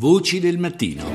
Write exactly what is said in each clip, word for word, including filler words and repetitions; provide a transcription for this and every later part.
Voci del mattino.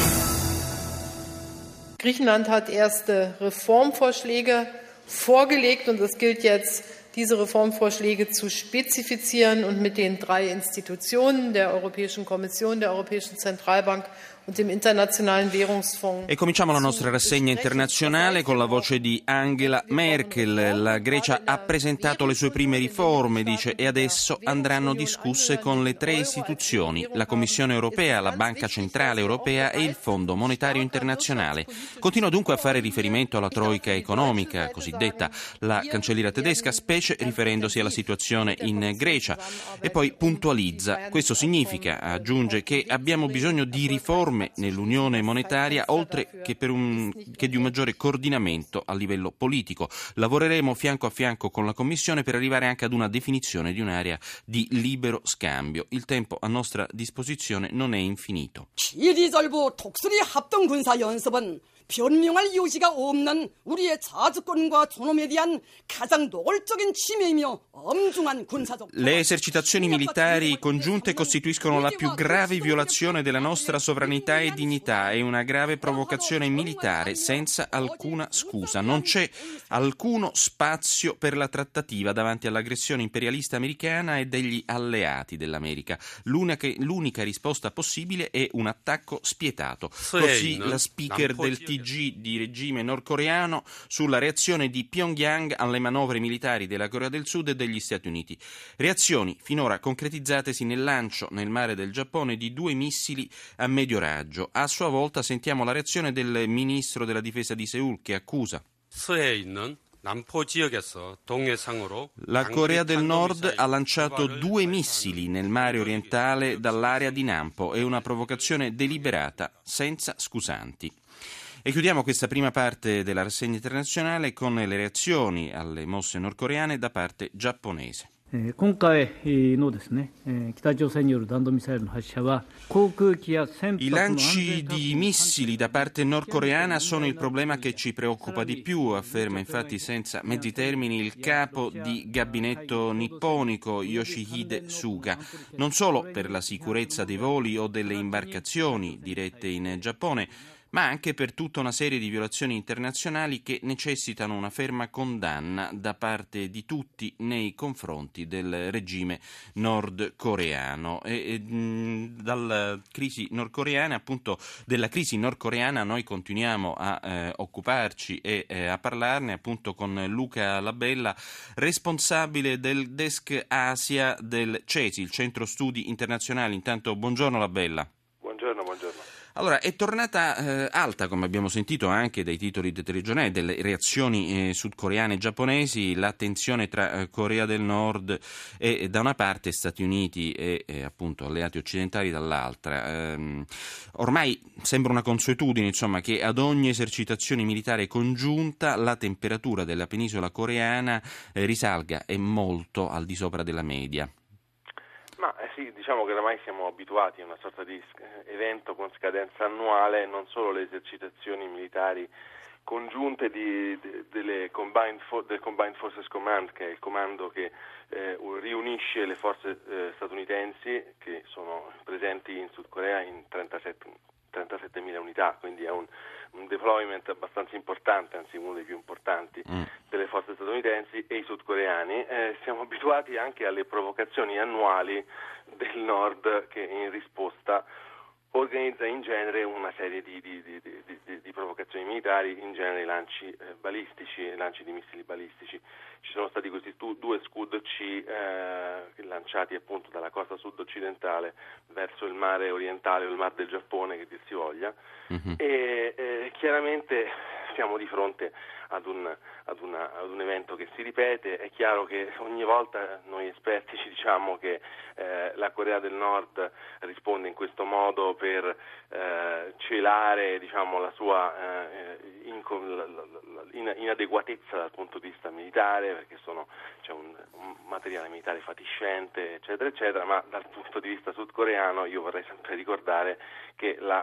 Griechenland hat erste Reformvorschläge vorgelegt und es gilt jetzt, diese Reformvorschläge zu spezifizieren und mit den drei Institutionen der Europäischen Kommission, der Europäischen Zentralbank und dem Internazionalen Währungsfonds. E cominciamo la nostra rassegna internazionale con la voce di Angela Merkel. La Grecia ha presentato le sue prime riforme, dice, e adesso andranno discusse con le tre istituzioni, la Commissione europea, la Banca Centrale Europea e il Fondo Monetario Internazionale. Continua dunque a fare riferimento alla troica economica, cosiddetta, la cancelliera tedesca, specie riferendosi alla situazione in Grecia, e poi puntualizza. Questo significa, aggiunge, che abbiamo bisogno di riforme nell'unione monetaria, oltre che, per un, che di un maggiore coordinamento a livello politico. Lavoreremo fianco a fianco con la Commissione per arrivare anche ad una definizione di un'area di libero scambio. Il tempo a nostra disposizione non è infinito. 지리절부 독수리 합동 군사 연습은 변명할 요지가 없는 우리의 자주권과 존엄에 대한 가장 노골적인 침해이며 엄중한 군사적. Le esercitazioni militari congiunte costituiscono la più grave violazione della nostra sovranità e dignità e una grave provocazione militare senza alcuna scusa. Non c'è alcuno spazio per la trattativa davanti all'aggressione imperialista americana e degli alleati dell'America. L'unica, l'unica risposta possibile è un attacco spietato. Così la speaker del T G di regime nordcoreano sulla reazione di Pyongyang alle manovre militari della Corea del Sud e degli Stati Uniti. Reazioni finora concretizzatesi nel lancio nel mare del Giappone di due missili a medio raggio. A sua volta sentiamo la reazione del ministro della difesa di Seul, che accusa la Corea del Nord ha lanciato due missili nel mare orientale dall'area di Nampo. È una provocazione deliberata senza scusanti. E chiudiamo questa prima parte della rassegna internazionale con le reazioni alle mosse nordcoreane da parte giapponese. 今回のですね、北朝鮮による弾道ミサイルの発射は航空機や船舶 I の安 lanci 全確保 di missili da parte nordcoreana sono il problema che ci preoccupa di più, afferma infatti senza mezzi termini il capo di gabinetto nipponico Yoshihide Suga. Non solo per la sicurezza dei voli o delle imbarcazioni dirette in Giappone, ma anche per tutta una serie di violazioni internazionali che necessitano una ferma condanna da parte di tutti nei confronti del regime nordcoreano. E, e mh, dalla crisi nordcoreana, appunto, della crisi nordcoreana noi continuiamo a eh, occuparci e eh, a parlarne appunto con Luca Labella, responsabile del desk Asia del CESI, il Centro Studi Internazionali. Intanto buongiorno Labella. Buongiorno, buongiorno. Allora, è tornata eh, alta, come abbiamo sentito anche dai titoli dei telegiornali, delle reazioni eh, sudcoreane e giapponesi, la tensione tra eh, Corea del Nord e, e da una parte Stati Uniti e eh, appunto alleati occidentali dall'altra. Ehm, ormai sembra una consuetudine, insomma, che ad ogni esercitazione militare congiunta la temperatura della penisola coreana eh, risalga e molto al di sopra della media. Ma eh sì, diciamo che oramai siamo abituati a una sorta di evento con scadenza annuale, non solo le esercitazioni militari congiunte di, de, delle Combined For, del Combined Forces Command, che è il comando che eh, riunisce le forze eh, statunitensi che sono presenti in Sud Corea in trentasettemila unità, quindi è un, un deployment abbastanza importante, anzi uno dei più importanti mm. delle forze statunitensi e i sudcoreani. Eh, siamo abituati anche alle provocazioni annuali del Nord, che in risposta organizza in genere una serie di, di, di, di, di, di provocazioni militari, in genere lanci eh, balistici, lanci di missili balistici. Ci sono stati questi tu, due Scud C eh, lanciati appunto dalla costa sud-occidentale verso il mare orientale o il mar del Giappone, che dir si voglia, mm-hmm. e eh, chiaramente siamo di fronte ad un, ad, una, ad un evento che si ripete. È chiaro che ogni volta noi esperti ci diciamo che eh, la Corea del Nord risponde in questo modo per eh, celare, diciamo, la sua eh, inco- la, la, la, inadeguatezza dal punto di vista militare, perché sono, c'è un, un materiale militare fatiscente, eccetera, eccetera, ma dal punto di vista sudcoreano io vorrei sempre ricordare che la il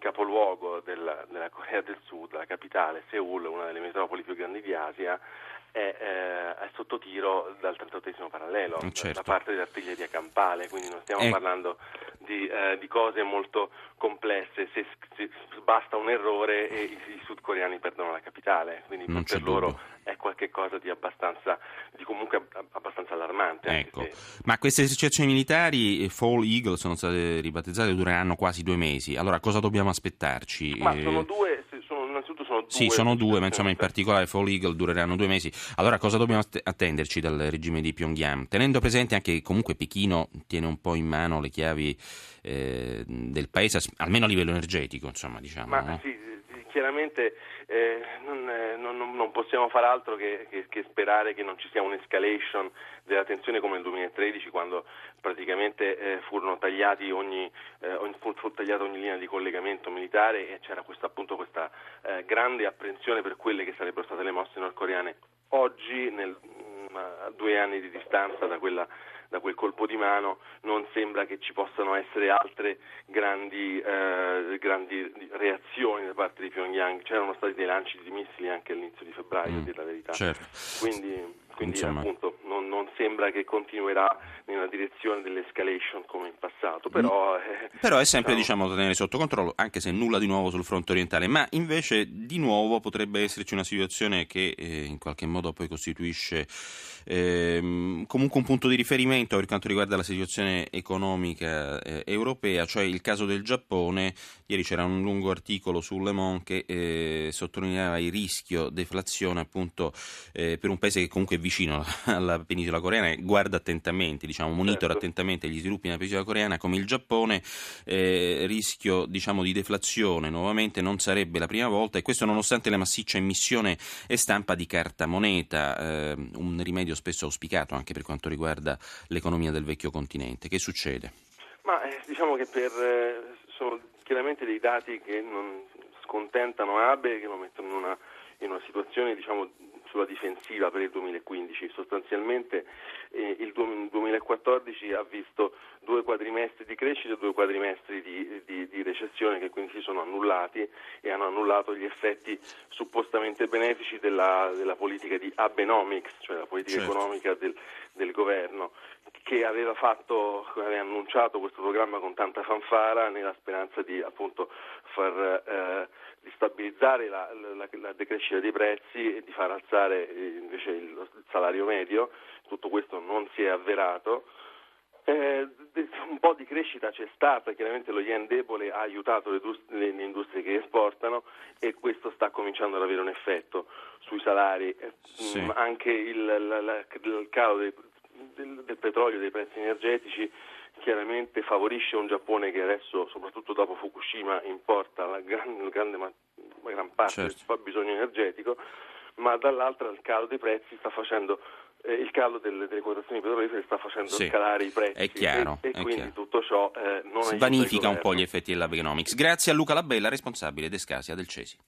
capoluogo della, della Corea del Sud, la capitale, Seul, una delle metropoli più grandi di Asia, è, eh, è sotto tiro dal trentottesimo parallelo, certo. da parte dell'artiglieria campale, quindi non stiamo eh. parlando di, eh, di cose molto complesse, se, se basta un errore e i, i sudcoreani perdono la capitale, quindi non per c'è loro dubbio. è qualcosa di abbastanza, di comunque abbastanza allarmante. Ecco. Anche se... Ma queste esercitazioni militari, Fall Eagle, sono state ribattezzate, dureranno quasi due mesi. Allora, cosa dobbiamo aspettarci? Ma sono due, sono, innanzitutto sono due. Sì, sono due, ma insomma in particolare Fall Eagle dureranno due mesi. Allora, cosa dobbiamo attenderci dal regime di Pyongyang? Tenendo presente anche che comunque Pechino tiene un po' in mano le chiavi eh, del paese, almeno a livello energetico, insomma, diciamo. Ma no? sì, chiaramente eh, non, eh, non, non possiamo far altro che, che, che sperare che non ci sia un'escalation della tensione come nel duemilatredici, quando praticamente eh, furono tagliati ogni, eh, ogni, fu, fu tagliata ogni linea di collegamento militare e c'era questa, appunto questa eh, grande apprensione per quelle che sarebbero state le mosse nordcoreane. Oggi, nel, mh, a due anni di distanza da quella da quel colpo di mano, non sembra che ci possano essere altre grandi, eh, grandi reazioni da parte di Pyongyang. C'erano stati dei lanci di missili anche all'inizio di febbraio, mm, a dire la verità. Certo. Quindi, quindi Insomma... appunto non, non sembra che continuerà nella direzione dell'escalation come in passato, però... Eh, però è sempre diciamo... diciamo tenere sotto controllo, anche se nulla di nuovo sul fronte orientale, ma invece di nuovo potrebbe esserci una situazione che eh, in qualche modo poi costituisce eh, comunque un punto di riferimento per quanto riguarda la situazione economica eh, europea, cioè il caso del Giappone. Ieri c'era un lungo articolo su Le Monde che eh, sottolineava il rischio deflazione appunto eh, per un paese che comunque è vicino alla penisola coreana e guarda attentamente, diciamo monitora certo. attentamente gli sviluppi nella penisola coreana come il Giappone. Eh, rischio diciamo di deflazione nuovamente, non sarebbe la prima volta, e questo nonostante la massiccia emissione e stampa di carta moneta, eh, un rimedio spesso auspicato anche per quanto riguarda l'economia del vecchio continente. Che succede? Ma eh, diciamo che per eh, sono chiaramente dei dati che non scontentano Abe, che lo mettono in una, in una situazione diciamo sulla difensiva per il duemilaquindici. Sostanzialmente eh, il duemilaquattordici ha visto due quadrimestri di crescita e due quadrimestri di, di, di recessione che quindi si sono annullati e hanno annullato gli effetti suppostamente benefici della, della politica di Abenomics, cioè la politica certo. economica del, del governo, che aveva fatto, aveva annunciato questo programma con tanta fanfara nella speranza di appunto far eh, di stabilizzare la, la, la decrescita dei prezzi e di far alzare eh, invece il, il salario medio. Tutto questo non si è avverato. Eh, un po' di crescita c'è stata, chiaramente lo yen debole ha aiutato le, le, le industrie che esportano e questo sta cominciando ad avere un effetto sui salari. Sì. Mm, anche il, la, la, il calo dei, del, del petrolio, dei prezzi energetici chiaramente favorisce un Giappone che adesso, soprattutto dopo Fukushima, importa la gran, la grande ma, la gran parte certo. del suo fabbisogno energetico, ma dall'altra il calo dei prezzi sta facendo eh, il calo delle, delle quotazioni petrolifere sta facendo sì, scalare i prezzi è chiaro, e, e è quindi chiaro. tutto ciò eh, non vanifica un po' gli effetti dell'Abenomics. Grazie a Luca Labella, responsabile d'Escasia del Cesi.